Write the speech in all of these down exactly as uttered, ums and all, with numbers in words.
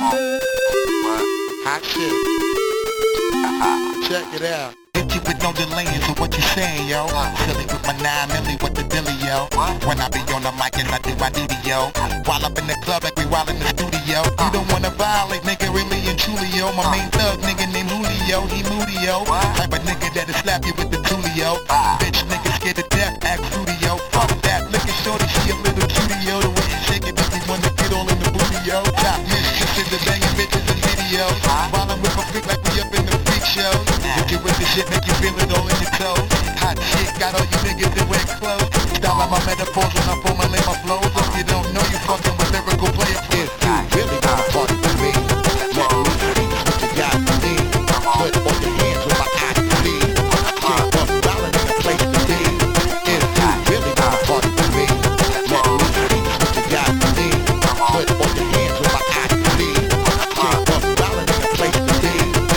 Hot shit. Check it out. Hit you with no delaying, so what you saying, yo? Silly with my nine milli, what the dilly, yo? When I be on the mic, yes, I do my duty, yo. While up in the club, like we while in the studio. You don't wanna violate, nigga, really and truly, yo. My main thug, nigga named Julio, he moody, yo. Type of nigga that'll slap you with the tulio. Bitch, nigga scared to death, act fruity, yo. Fuck that, look at shorty, she a little cutie, yo. The way she shake it, makes me wanna get all in the booty, yo. Top mistress in the banging bitches and videos. While I'm with my freak like we up in the freak show. You get with the shit, make you feel it all in your toes. Hot shit, got all you niggas that wear clothes. Style on my metaphors when I formulate my flows. If you don't know, you fucking with lyrical players. If you really wanna party with me, let me see what you got for me. Put all your hands with my eyes to see. Shake up, rolling in a place to be. If you really wanna party with me, let me see what you got for me. Put all your hands with my eyes to see. Shake up, rolling in a place to be.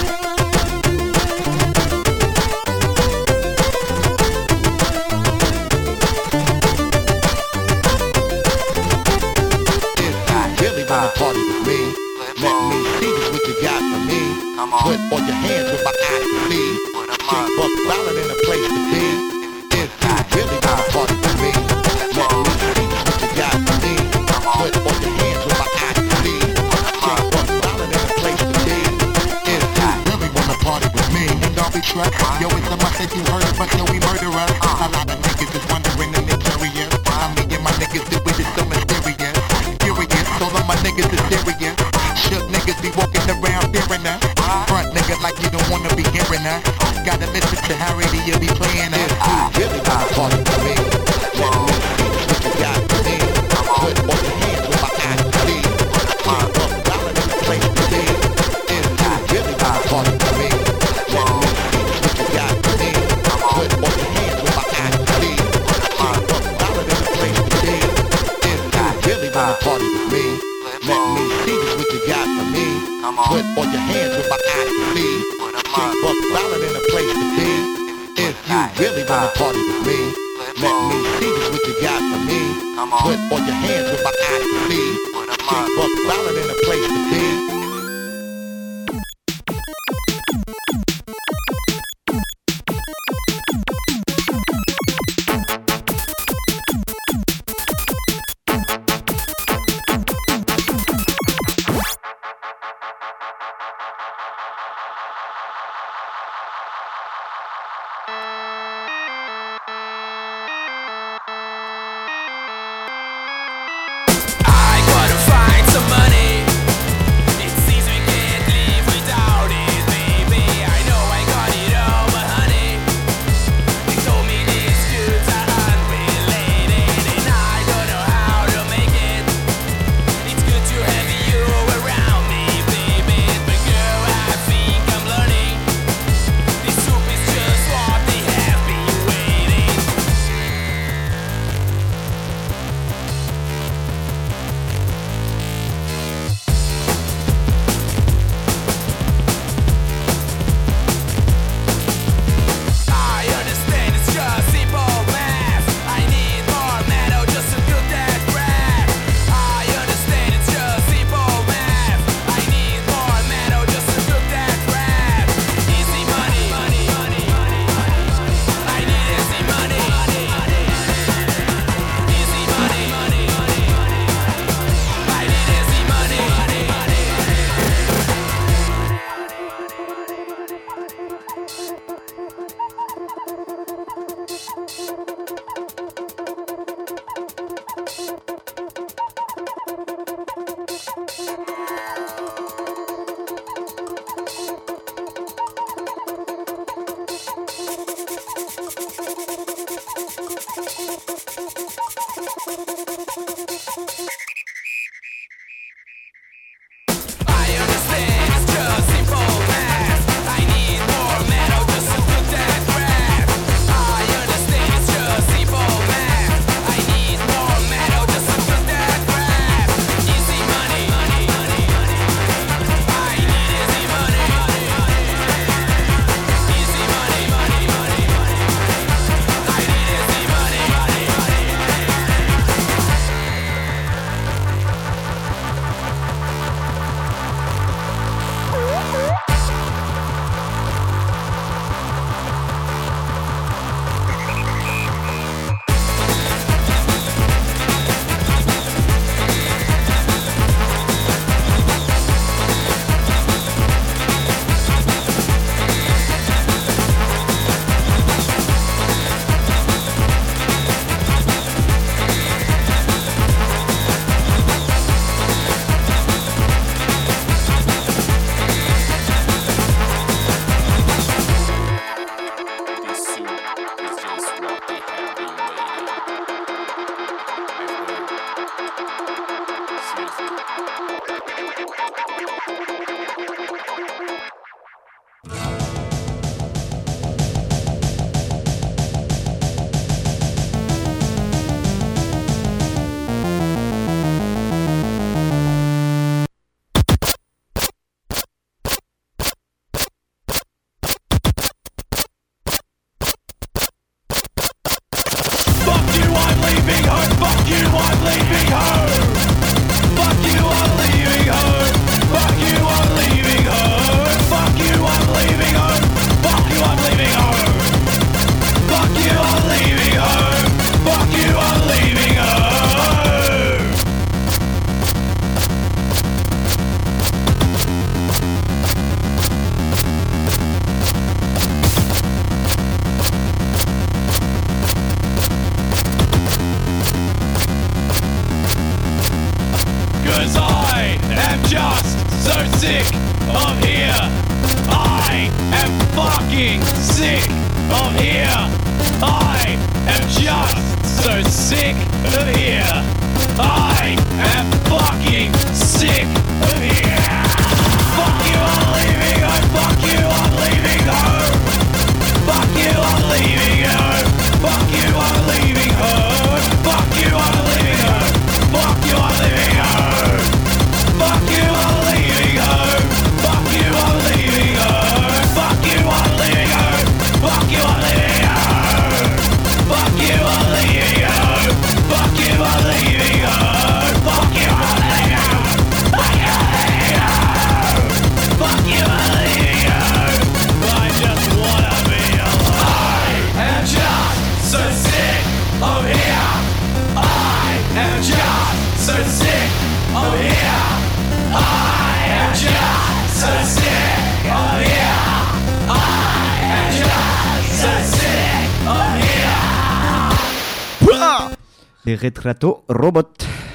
Wanna party with me? Let me see just what you got for me. Put all your hands with my eyes to see. Shake buck violent in a place to be. If you really wanna party with me, let me see just what you got for me. Put all your hands with my eyes to see. Shake buck violent in a place to be. If you really wanna party with me, and don't be trust. Yo, it's a must that you heard of us, yo, we murder us. A lot of niggas is wondering and they're curious. I mean, and my niggas do it, it's so mysterious. All of my niggas is serious. Shook niggas be walking around fearing us. Front nigga like you don't wanna be hearing us. Gotta listen to how radio be playing us. If you really wanna party with me, let me see what you got for me. Put all your hands with my eyes to see. Shake up, rolling in the place to be. If you really wanna party with me, let me see what you got for me. Put all your hands with my eyes to see. Shake up, rolling in the place to be. If you really wanna party with me, let me see just what you got for me. Put all your hands with my eyes to see. Shake buck violent in a place to be. If you really wanna party with me, let me see just what you got for me. Put all your hands with my eyes to see. Shake buck violent in a place to be. Some money Les Retrato Robot.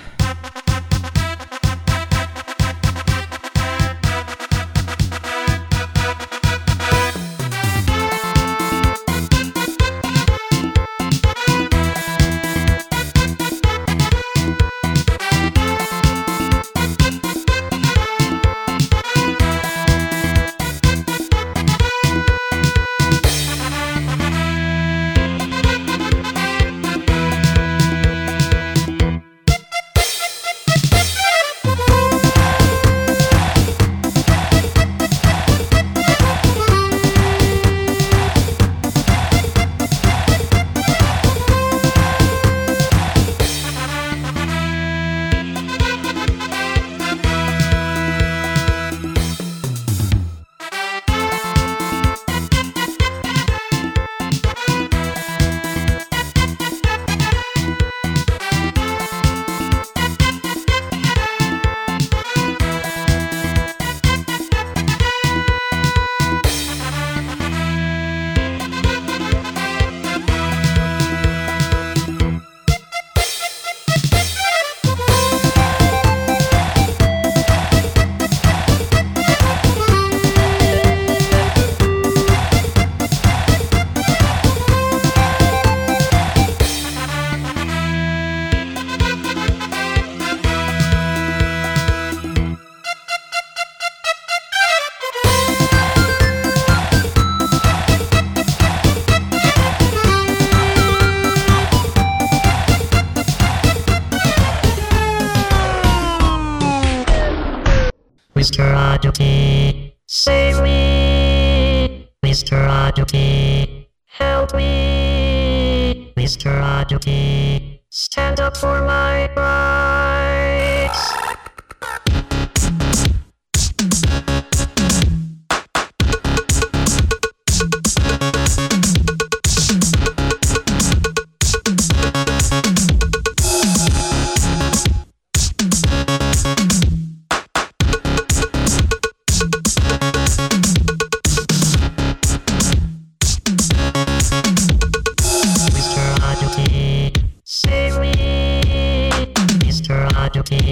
Mister Aduki, save me! Mister Aduki, help me! Mister Aduki, stand up for my rights! Save me, Mister Aduki.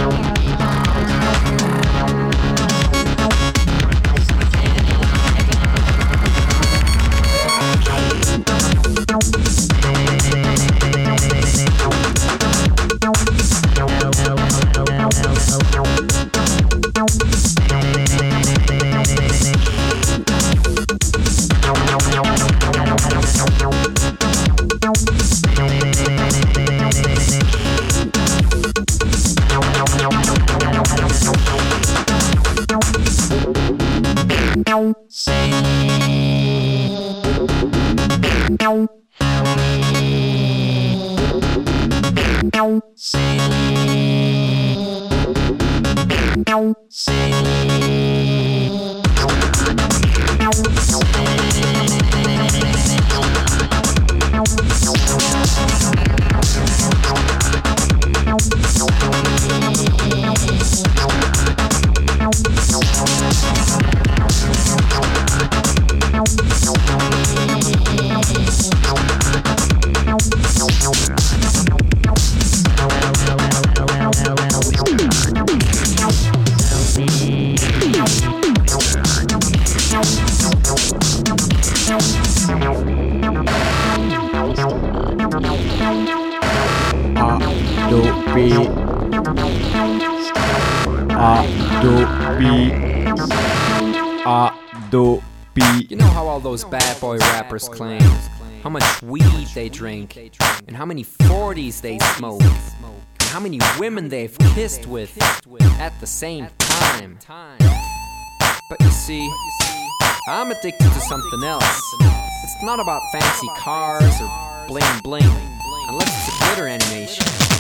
You know how all those bad boy rappers claim how much weed they drink, and how many forties they smoke, and how many women they've kissed with at the same time. But you see, I'm addicted to something else. It's not about fancy cars or bling bling, unless it's a glitter animation.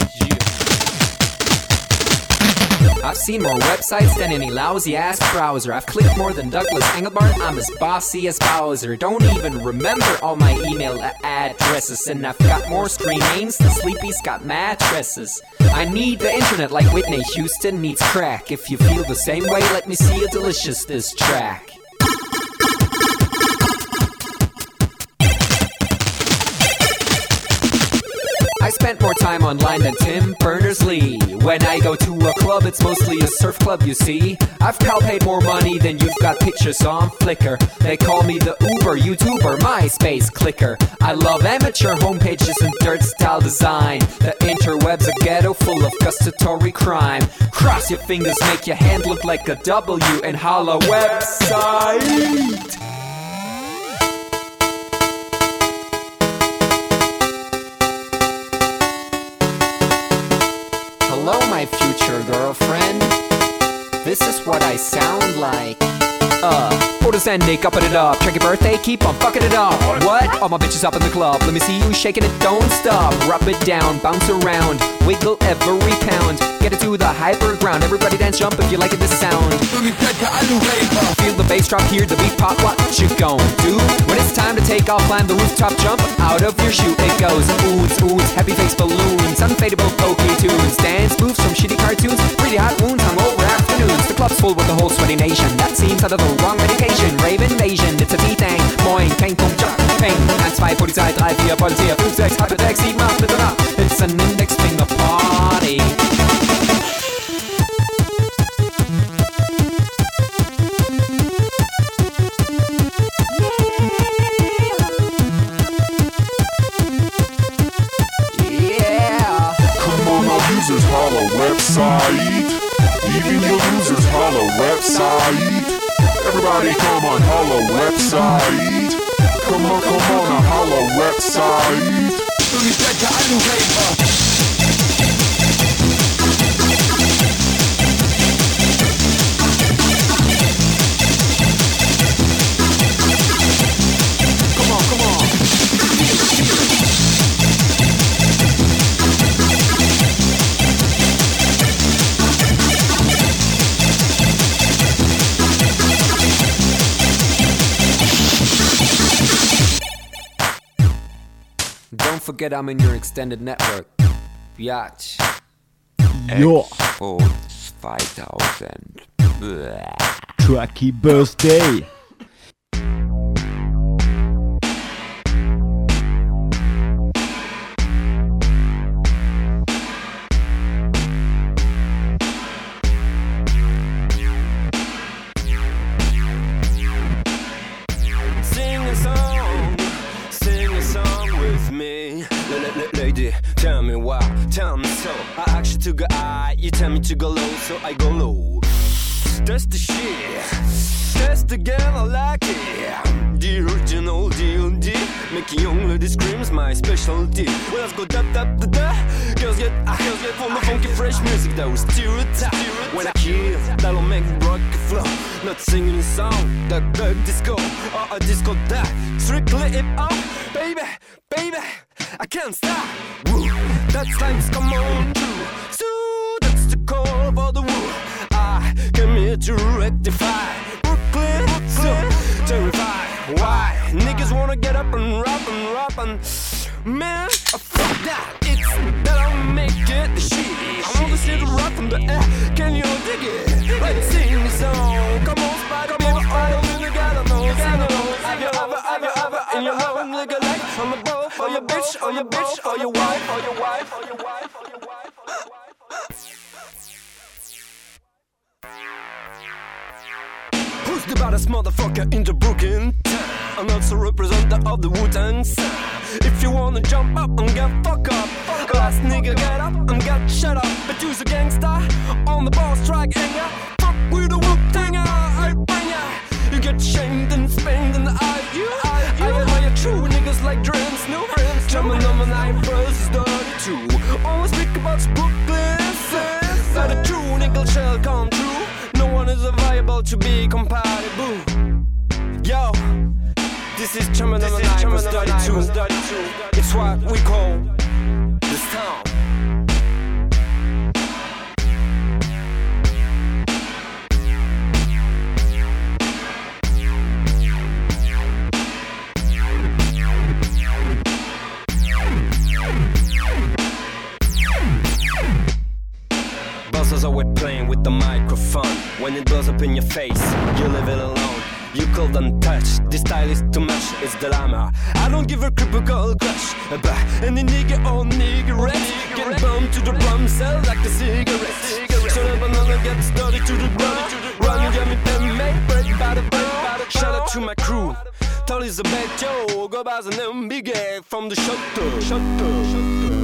I've seen more websites than any lousy-ass browser. I've clicked more than Douglas Engelbart. I'm as bossy as Bowser. Don't even remember all my email addresses. And I've got more screen names than Sleepy's got mattresses. I need the internet like Whitney Houston needs crack. If you feel the same way, let me see a delicious diss track. I spent more time online than Tim Berners-Lee. When I go to a club, it's mostly a surf club, you see. I've pal paid more money than you've got pictures on Flickr. They call me the Uber YouTuber, MySpace clicker. I love amateur homepages and dirt style design. The interweb's a ghetto full of gustatory crime. Cross your fingers, make your hand look like a W and holla website. Hello, my future girlfriend. This is what I sound like. Uh, photosending, upping it up. Check your birthday, keep on fucking it up. What? All my bitches up in the club. Let me see you shaking it, don't stop. Rub it down, bounce around, wiggle every pound. Get it to the hyper ground. Everybody dance, jump if you like it, this sound. Feel the bass drop, hear the beat pop. What you gon' do? When it's time to take off, climb the rooftop, jump out of your shoe. It goes oohs, oohs, happy face balloons, unfadable pokey tunes, dance moves from shitty cartoons, really hot wounds hung over afternoons. The club's full with the whole sweaty nation. That seems out of the wrong medication. Rave invasion, it's a V-Thang. Moin, kein Punkt, Jump, Peng. eins, zwei, Polizei, drei, vier, Polizei, fünf, sechs, halbe sechs, sieben, acht, bitte nach. It's an index finger party. Users holla website. Even your users holla website. Everybody come on holla website. Come on, come on, a holla website. Come on, come on. Don't forget I'm in your extended network. Biatch. Ja, Exports zweitausend. Tracky Birthday. to go high, you tell me to go low, so I go low. That's the shit, that's the girl I like it. The original D and D, making young lady screams my specialty. Well, let's go da da da da. Girls get, ah, girls get from the funky fresh music that was stereotype. When I kill, that'll make rock flow. Not singing a song, that the disco or a disco that strictly hip hop, baby, baby. I can't stop. Woo. That's times come on true. So that's the call for the woo. I came here to rectify Brooklyn, Brooklyn. So terrified. Why? Niggas wanna get up and rap and rap and man, oh, fuck that. It's that I'll make it the shit. I wanna see the rock from the air. Can you dig it? Let's sing the song. Come on, Spider, come on, Spider. You gotta know, you gotta know. Have you ever, ever, ever in your home, nigga, like on the ball for your bitch, or your bitch, or your wife, or your wife, or your wife, or your wife. Who's the baddest motherfucker in the Brooklyn town? I'm also representative of the Wu-Tang sound. If you wanna jump up and get fuck up, fuck last nigga get up and get shut up. But you's a gangster on the boss track and ya fuck with the Wu-Tanger, I bang ya. You get shamed and spanked in the eye. You, I, I admire true niggas like Dreams, no friends. Jumping on my nine versus thirty-two. Always speak about Brooklyn, that a true nigga shall come true. No one is viable to be compatible. Yo, this is German number nine was thirty-two. It's what we call this town. Buzzers are always playing with the microphone. When it blows up in your face, you leave it alone. You cold and touch, this style is too much, it's the llama. I don't give a critical crush about any nigga or niggerette. Get bumped to the drum cell like a cigarette. Shut up another get started to the ground. Run and get me pen, make bread by the bread. Shout out to my crew, tell Elizabeth, yo, go by the name Big A from the shutter, shutter, shutter.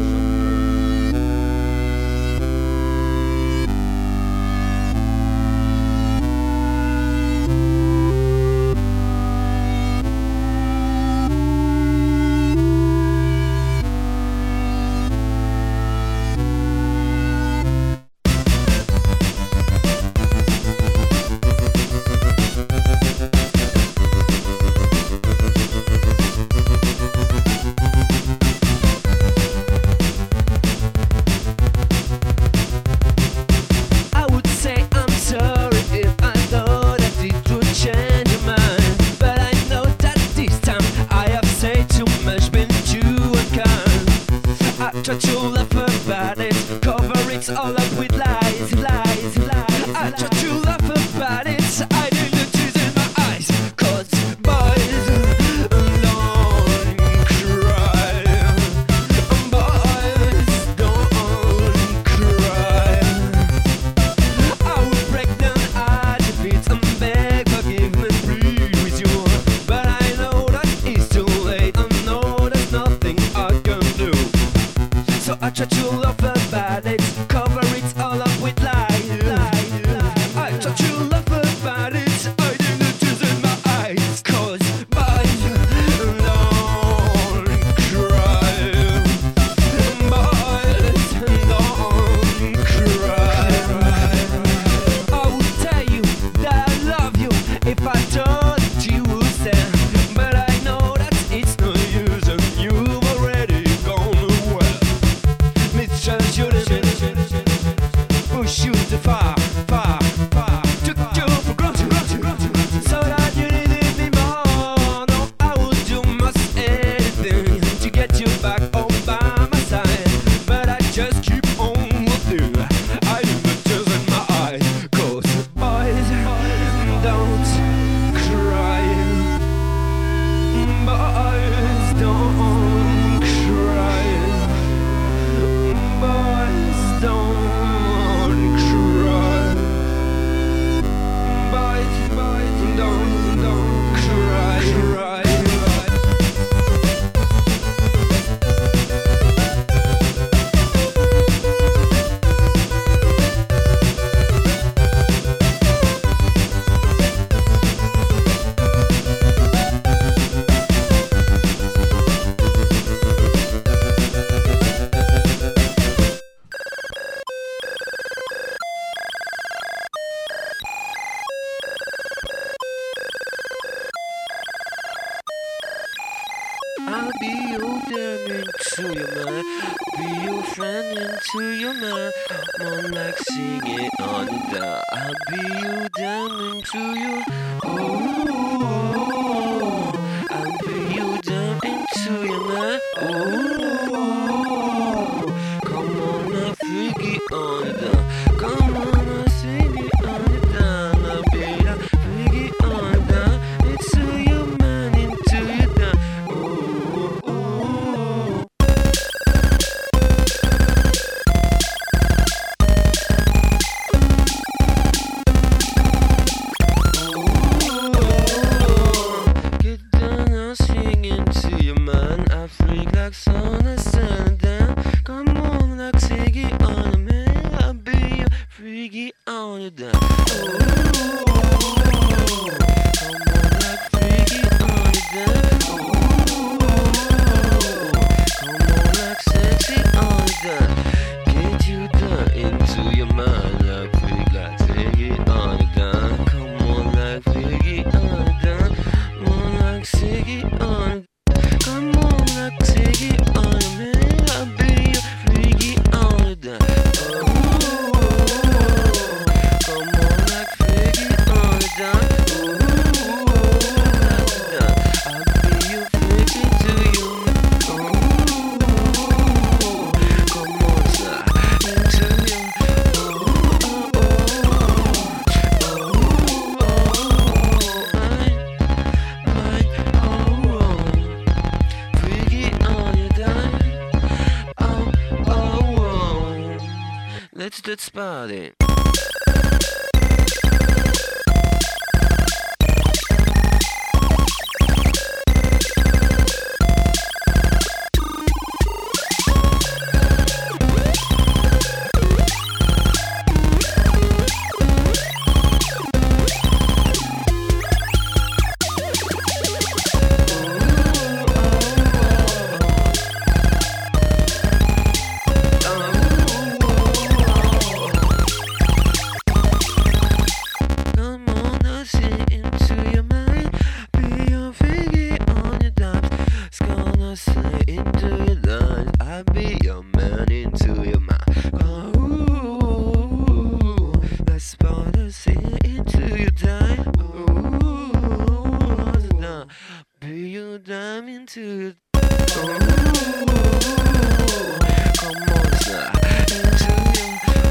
I'll be your damn into your mind. Be your friend into your mind. More like sing it on the down. I'll be your damn into your. Ooh, I'll be your damn into your mind. Ooh, come on now, freaky on the down. Come on now, sing it on the down. I'll be that freaky on the down. Into your mind, into your down. Ooh, ooh. Get down now, swing into your mind. I freak like sun, I stand down. Come on, like sing it on the man. I'll be your freaky on the down. Ooh, come on, like freaky on the down. Ooh, come on, like sexy on the down. Get you down into your mind, like freak, like sing it on the down. Come on, like freaky on the down. Come on, like sing it on the. Come on, like sing it on the man. I'll be your freaky on the down. Ooh, come on, like freaky on the down. Ooh, like the down. I'll be your freaky to you. Ooh, come on, slide into you. Ooh, oh, oh, oh, oh, mine, mine, oh, oh. Freaky on your dime. Oh, oh, oh. Let's let's party. Come on now, sing into your mind. Be your figgy on your dimes. It's gonna say into your lines. I'll be your man into your mind. Ooh, let's party, sing into your dime. Ooh, now, be your dime into your. Ooh, come on, slide into your.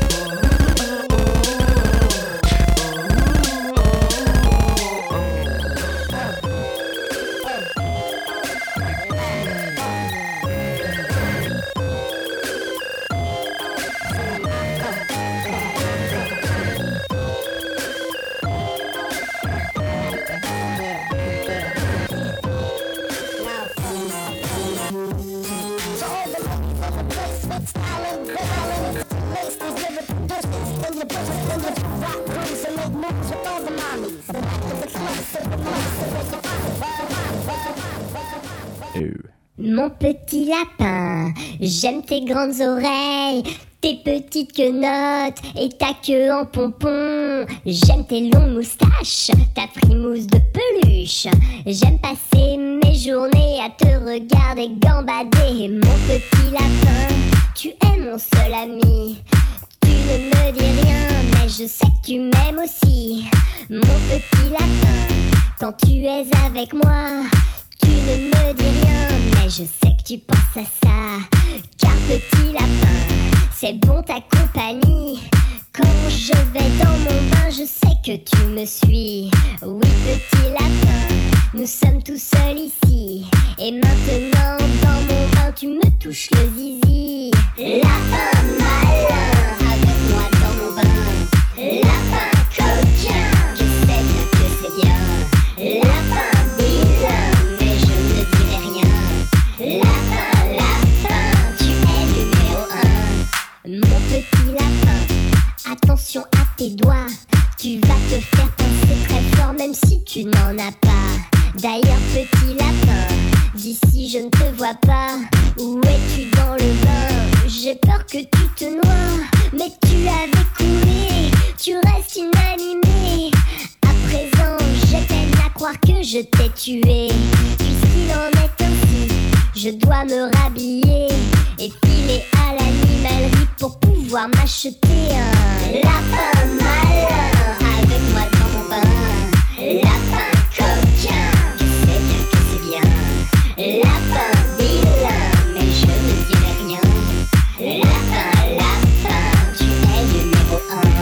Mon petit lapin, j'aime tes grandes oreilles, tes petites quenottes et ta queue en pompon. J'aime tes longues moustaches, ta frimousse de peluche. J'aime passer mes journées à te regarder gambader. Mon petit lapin, tu es mon seul ami. Tu ne me dis rien, mais je sais que tu m'aimes aussi. Mon petit lapin, quand tu es avec moi, tu ne me dis rien, mais je sais que tu penses à ça. Car petit lapin, c'est bon ta compagnie. Quand je vais dans mon bain, je sais que tu me suis. Oui petit lapin, nous sommes tous seuls ici. Et maintenant dans mon bain, tu me touches le zizi. Lapin malin, avec moi dans mon bain. Lapin coquin, je sais bien que c'est bien. Lapin vilain, mais je ne dirai rien. Lapin, lapin, tu es numéro un. Mon petit lapin, attention à tes doigts. Tu vas te faire penser très fort même si tu n'en as pas. D'ailleurs petit lapin, d'ici je ne te vois pas. Où es-tu dans le bain? J'ai peur que tu te noies. Mais tu avais coulé, tu restes inanimé. À présent j'ai peine à croire que je t'ai tué. Puisqu'il en est ainsi, je dois me rhabiller et filer à l'animalerie pour pouvoir m'acheter un lapin malin avec moi dans mon bain. Lapin coquin, tu sais bien que c'est bien. Lapin vilain, mais je ne dirai rien. Lapin, lapin, tu es numéro un.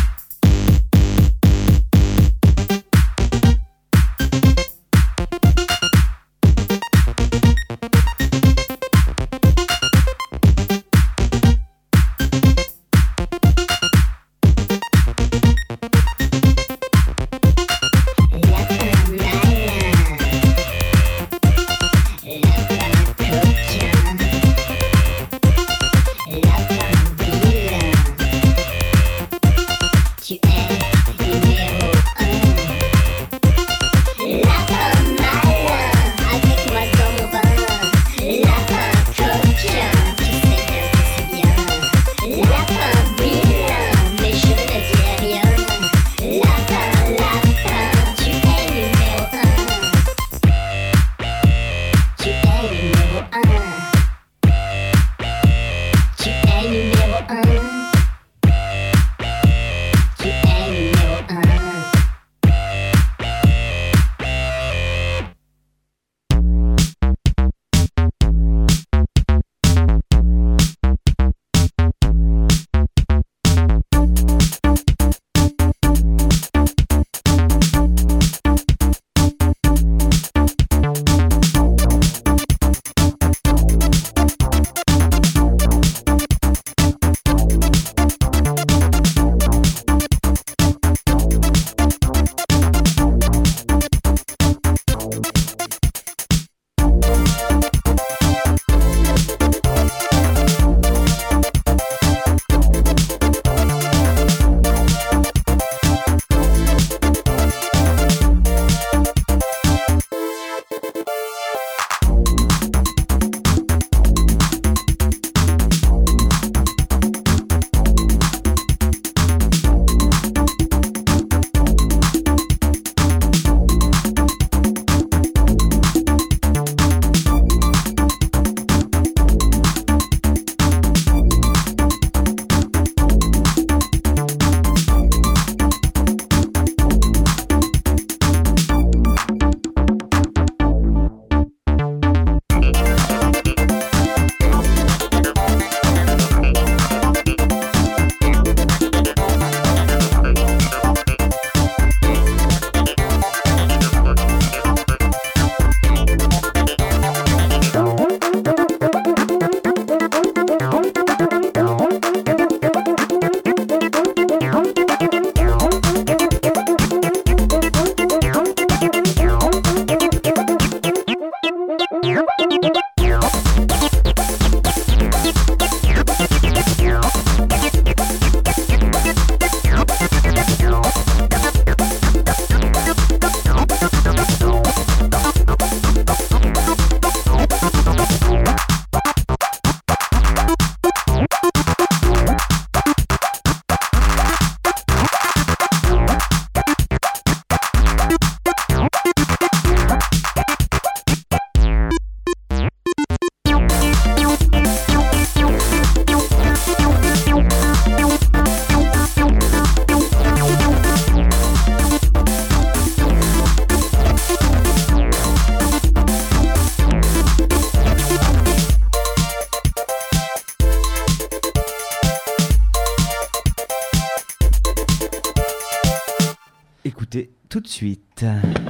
Écoutez tout de suite.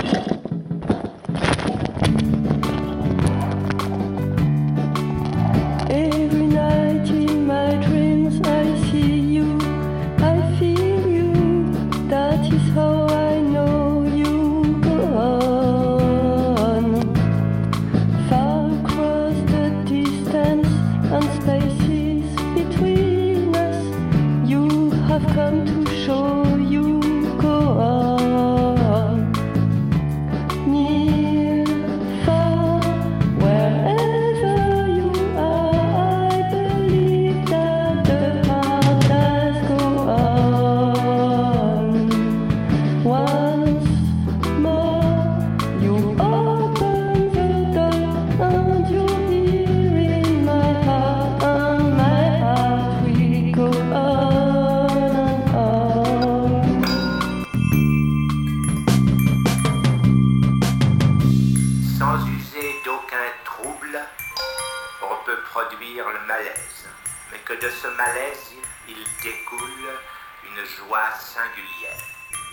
Every night in my dreams I see you, I feel you, that is how I know you go on. Far across the distance and spaces between us, you have come to show you go on. un malaise, mais que de ce malaise, il découle une joie singulière.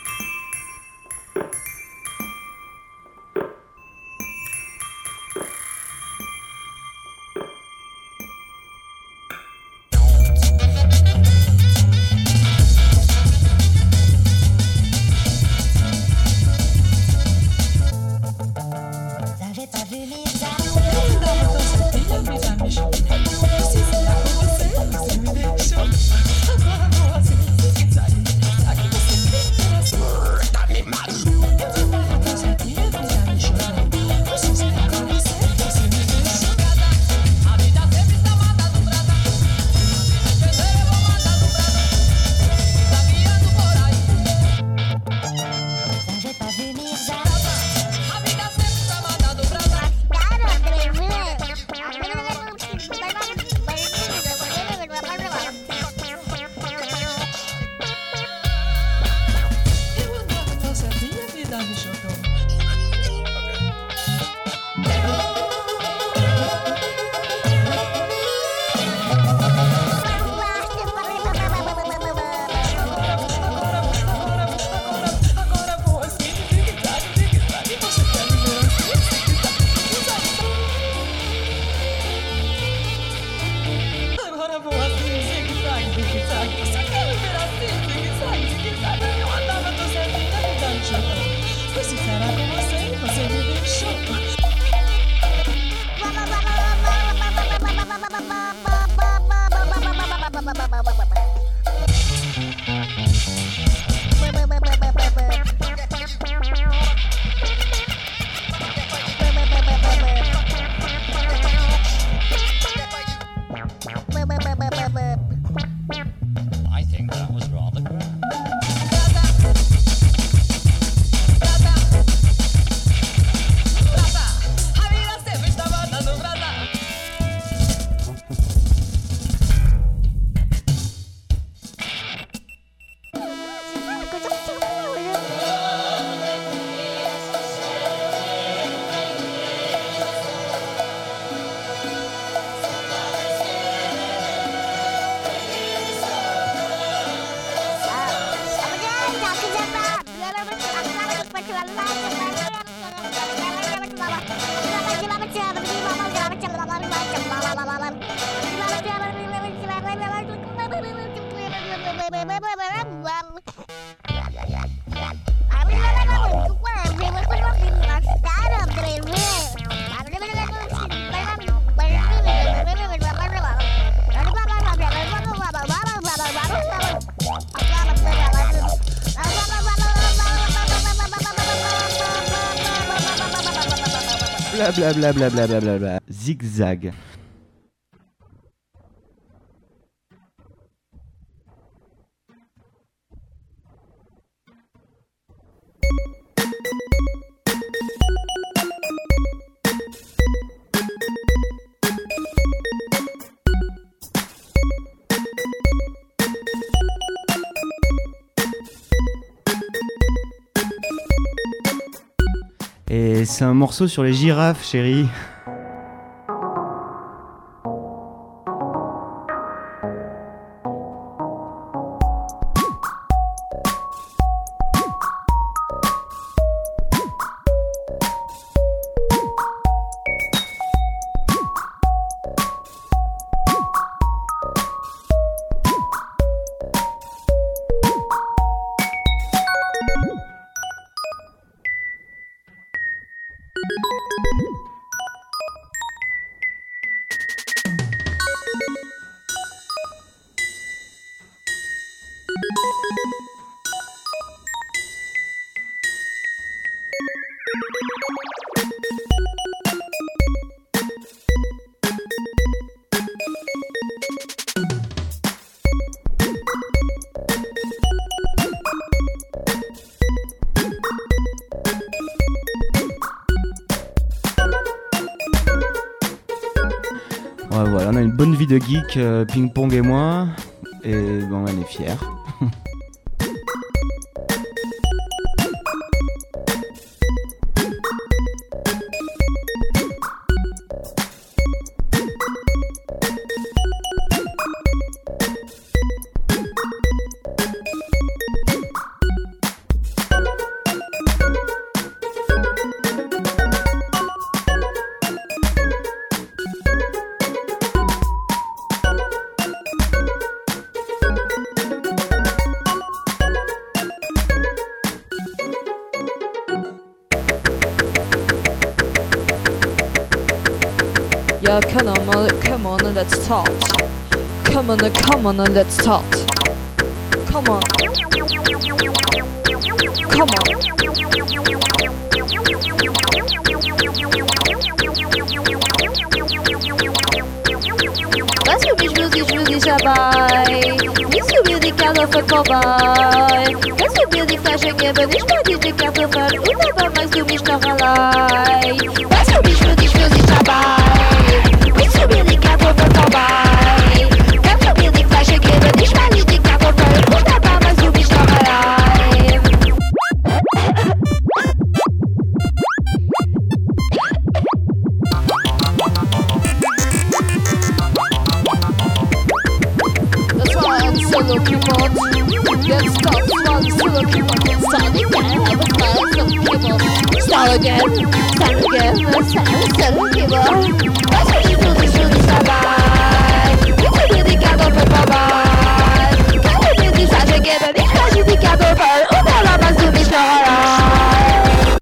Blablabla, bla bla bla bla bla. Zigzag. Et c'est un morceau sur les girafes, chérie. Ouais, voilà, on a une bonne vie de geek, euh, Ping Pong et moi, et bon, on est fiers. Yeah, come on, come on, let's talk. Come on, come on, let's talk. Come on. Come on. Let's go, bitch, music, music, shabai. Let's go, music, cartoffel, cowboy. Let's go, music, flash, again, but ich mag die Kartoffel. Und aber magst du mich noch allein. Let's go, bitch, music, music, shabai. Let's go, music, cartoffel, cowboy. Let's go, music, flash, again, but ich mag die Kartoffel. Und aber magst du mich noch allein. Solo keyboard. Get stuck, one solo keyboard. Start again, have a flash of keyboard. Start again, start again, start, solo keyboard. Let's go, this music, music, bye-bye. It's a really cartoffel, bye-bye. Can't you do this flash again, but it's flash, it's a cartoffel. Und aber machst du mich noch allein.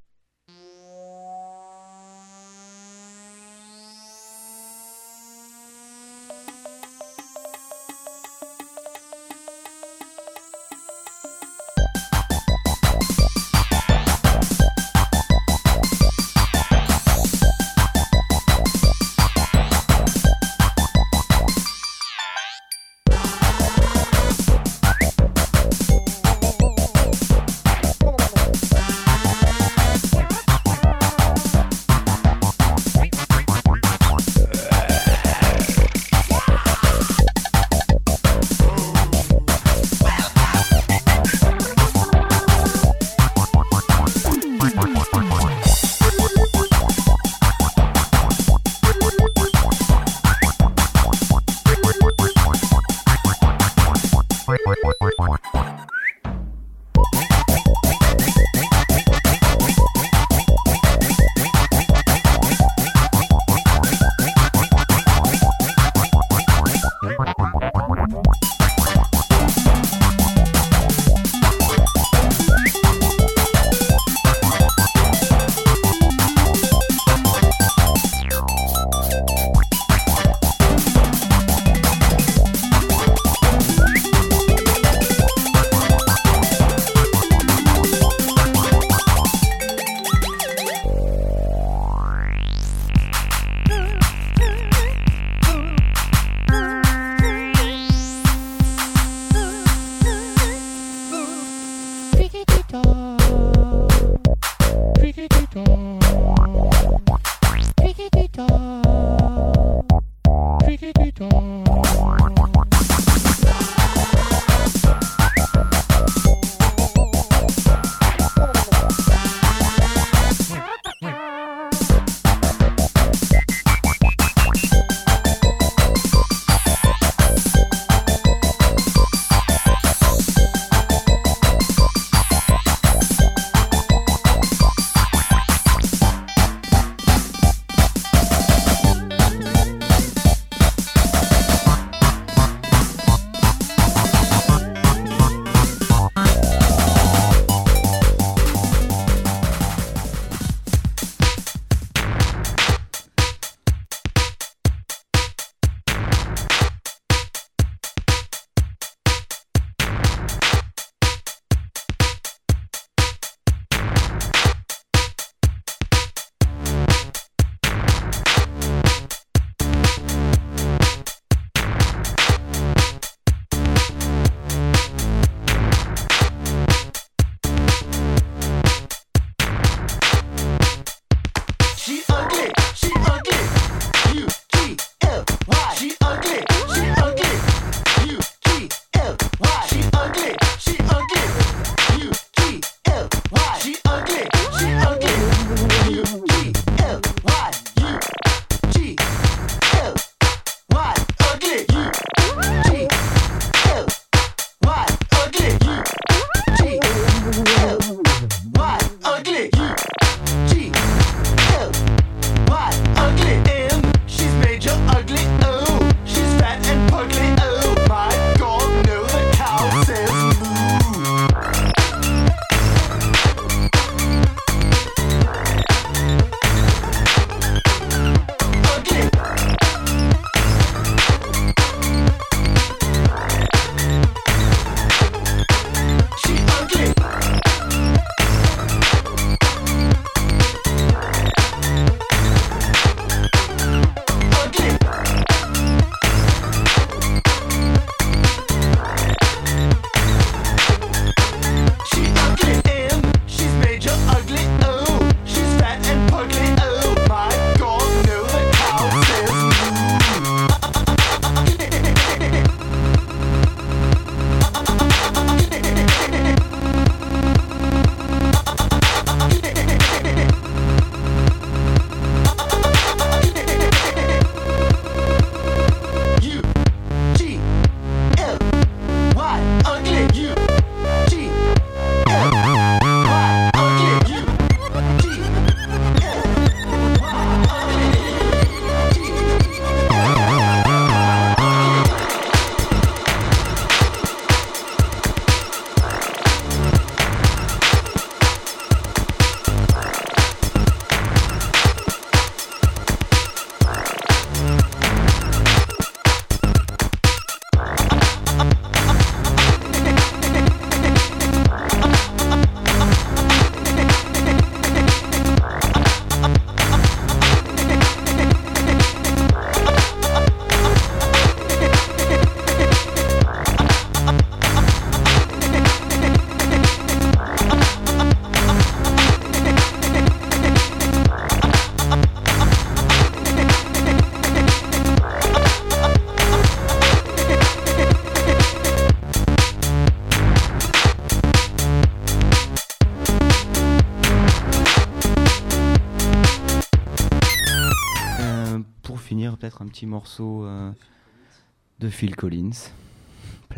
peut-être un petit morceau euh, de Phil Collins. Play.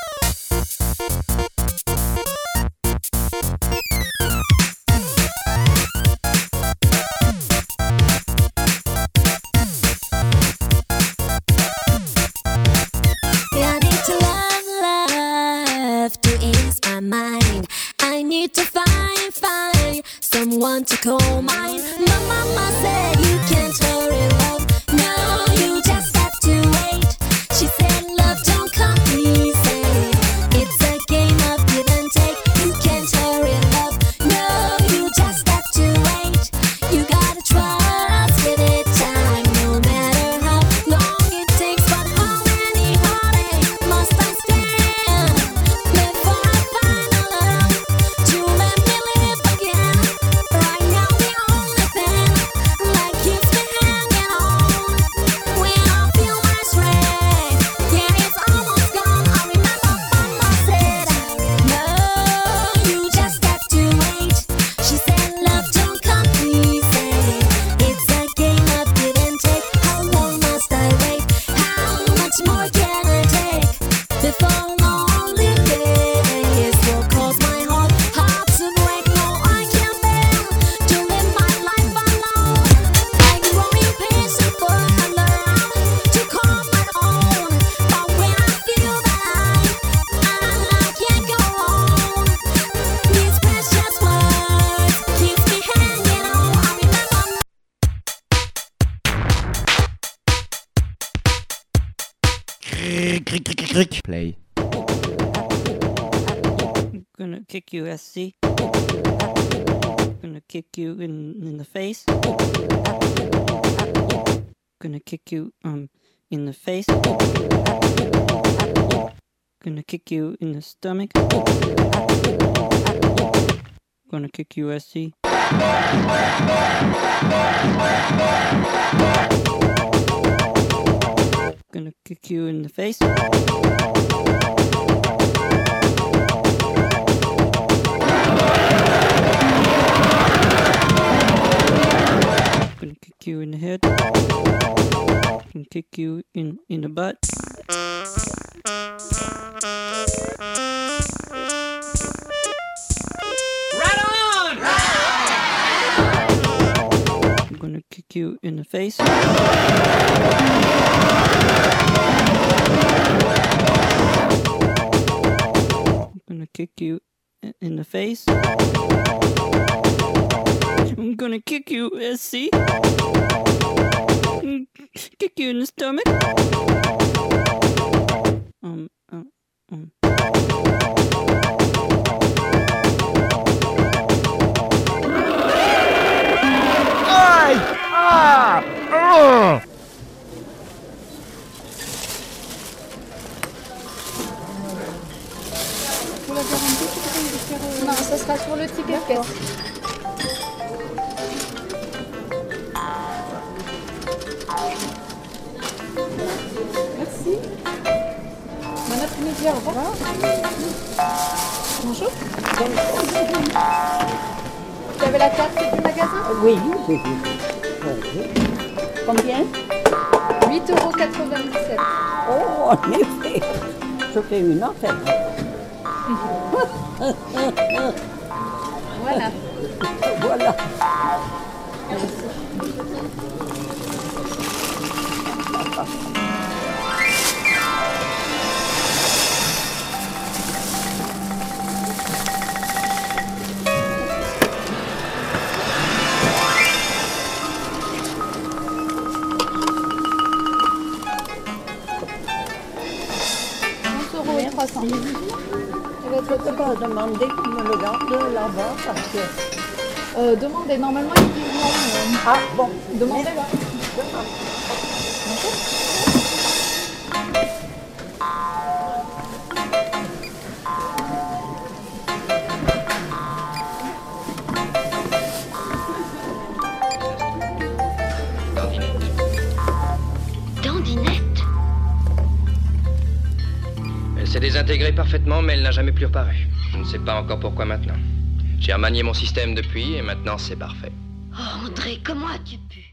To find, find someone to call mine. My mama said you can't hurry love. No, you just have to wait. She said love don't come easy. It's a game of give and take. You can't hurry love. No, you just have to wait. You gotta trust, give it time. No matter how long it takes, but how many heartaches must I stand before I find a love to let me live again? Right now the only thing that keeps me hanging on when I feel my strength, yeah, it's almost gone. I remember Mama said, no, you just have to wait. She said love don't come easy. It's a game of give and take. How long must I wait? How much more can I take before lonely days will cause my heart heart to break? No, I can't bear to live my life alone. I'm growing patient for I learn to call my own. But when I feel that I, I can't go on, these precious words keep me hanging on. I remember. Play. Gonna kick you, S C. Gonna kick you in, in the face. Gonna kick you um in the face. Gonna kick you in the stomach. Gonna kick you, S C. Gonna kick you in the face. Gonna kick you in the head. Gonna kick you in in the butt. Right on! I'm gonna kick you in the face. I'm gonna kick you i- in the face. I'm gonna kick you, S C. Mm, Kick you in the stomach. Um, um, um. Aïe! Ah! Ah! Pour la garantie, tu peux me faire, euh, non, ça sera sur le ticket caisse. Merci. Bon après-midi, au revoir. Bonjour. Vous avez la carte du magasin? Oui, oui, oui. Combien? huit euros quatre-vingt-dix-sept. Oh, en effet, je fais une affaire. Voilà. Voilà. onze euros et trois cents. Je peux pas demander qu'on me le garde là-bas parce que... Euh, demandez, normalement ils disent non. mais- Ah bon, Demandez-le. Dandinette. Elle s'est désintégrée parfaitement, mais elle n'a jamais plus reparu. Je ne sais pas encore pourquoi maintenant. J'ai remanié mon système depuis et maintenant c'est parfait. Oh André, comment as-tu pu?